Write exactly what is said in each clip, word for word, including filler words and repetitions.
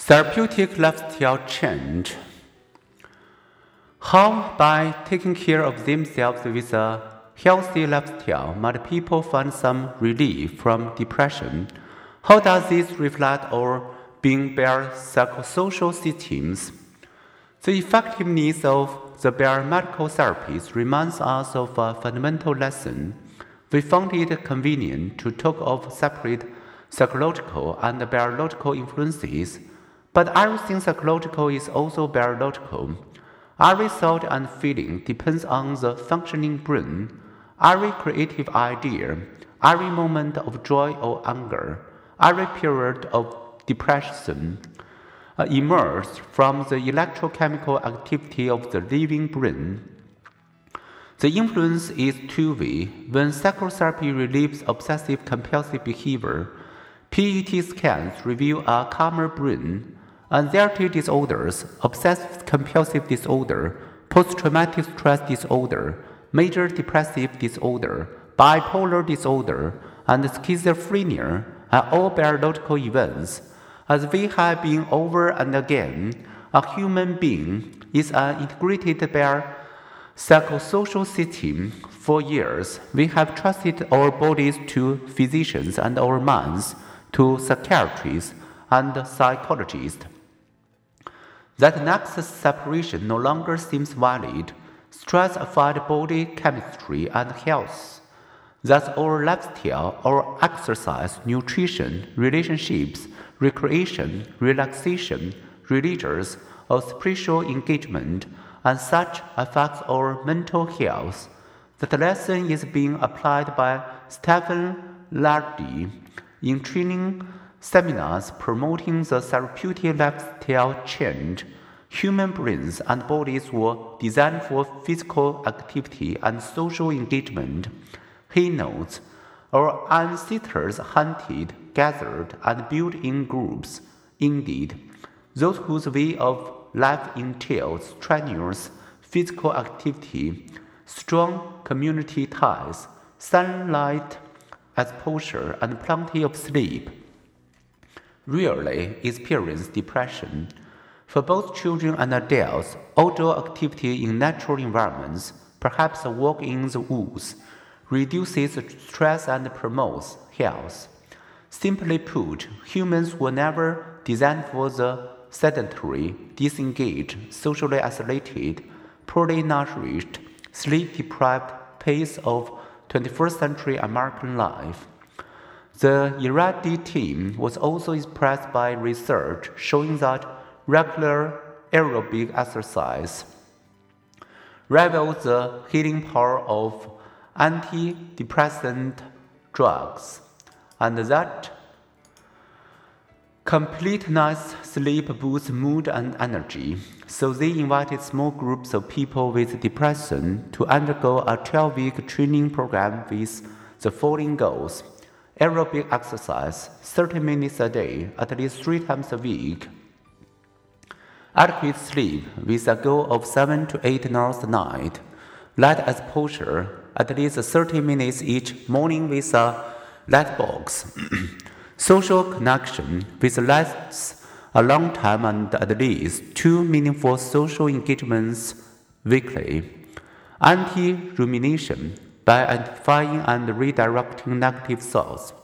Therapeutic lifestyle change. How, by taking care of themselves with a healthy lifestyle, might people find some relief from depression? How does this reflect our being bare psychosocial systems? The effectiveness of the biomedical therapies reminds us of a fundamental lesson. We found it convenient to talk of separate psychological and biological influences, but everything psychological is also biological. Every thought and feeling depends on the functioning brain. Every creative idea, every moment of joy or anger, every period of depression uh, emerges from the electrochemical activity of the living brain. The influence is two-way. When psychotherapy relieves obsessive-compulsive behavior, P E T scans reveal a calmer brain. Anxiety disorders, obsessive-compulsive disorder, post-traumatic stress disorder, major depressive disorder, bipolar disorder, and schizophrenia are all biological events. As we have been over and again, a human being is an integrated psychosocial system. For years, we have trusted our bodies to physicians and our minds to psychiatrists and psychologists. That nexus separation no longer seems valid. Stress affects body chemistry and health. Thus, our lifestyle, our exercise, nutrition, relationships, recreation, relaxation, religious or spiritual engagement, and such affects our mental health. That lesson is being applied by Stephen Lardy in training seminars promoting the therapeutic lifestyle change. Human brains and bodies were designed for physical activity and social engagement. He notes, our ancestors hunted, gathered, and built in groups. Indeed, those whose way of life entails strenuous physical activity, strong community ties, sunlight exposure, and plenty of sleep, rarely experience depression. For both children and adults, outdoor activity in natural environments, perhaps a walk in the woods, reduces stress and promotes health. Simply put, humans were never designed for the sedentary, disengaged, socially isolated, poorly nourished, sleep-deprived pace of twenty-first century American life. The Iradi team was also impressed by research showing that regular aerobic exercise rivals the healing power of antidepressant drugs, and that complete night's sleep boosts mood and energy. So they invited small groups of people with depression to undergo a twelve-week training program with the following goals: aerobic exercise, thirty minutes a day, at least three times a week; adequate sleep with a goal of seven to eight hours a night; light exposure, at least thirty minutes each morning with a light box; social connection with lasts a long time and at least two meaningful social engagements weekly; anti-rumination, by identifying and redirecting negative thoughts;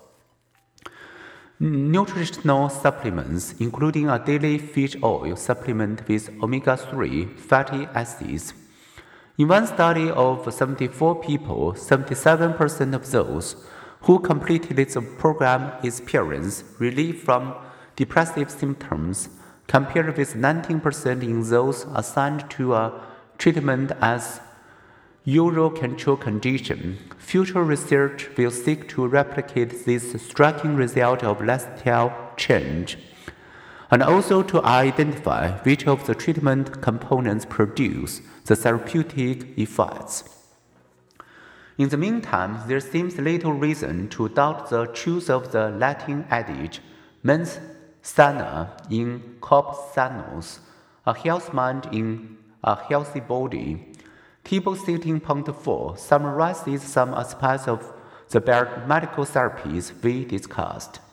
nutritional supplements, including a daily fish oil supplement with omega three fatty acids. In one study of seventy-four people, seventy-seven percent of those who completed the program experienced relief from depressive symptoms, compared with nineteen percent in those assigned to a treatment as usual control condition. Future research will seek to replicate this striking result of lifestyle change, and also to identify which of the treatment components produce the therapeutic effects. In the meantime, there seems little reason to doubt the truth of the Latin adage, mens sana in corpus sanus, a healthy mind in a healthy body. Table sixteen point four summarizes some aspects of the biomedical therapies we discussed.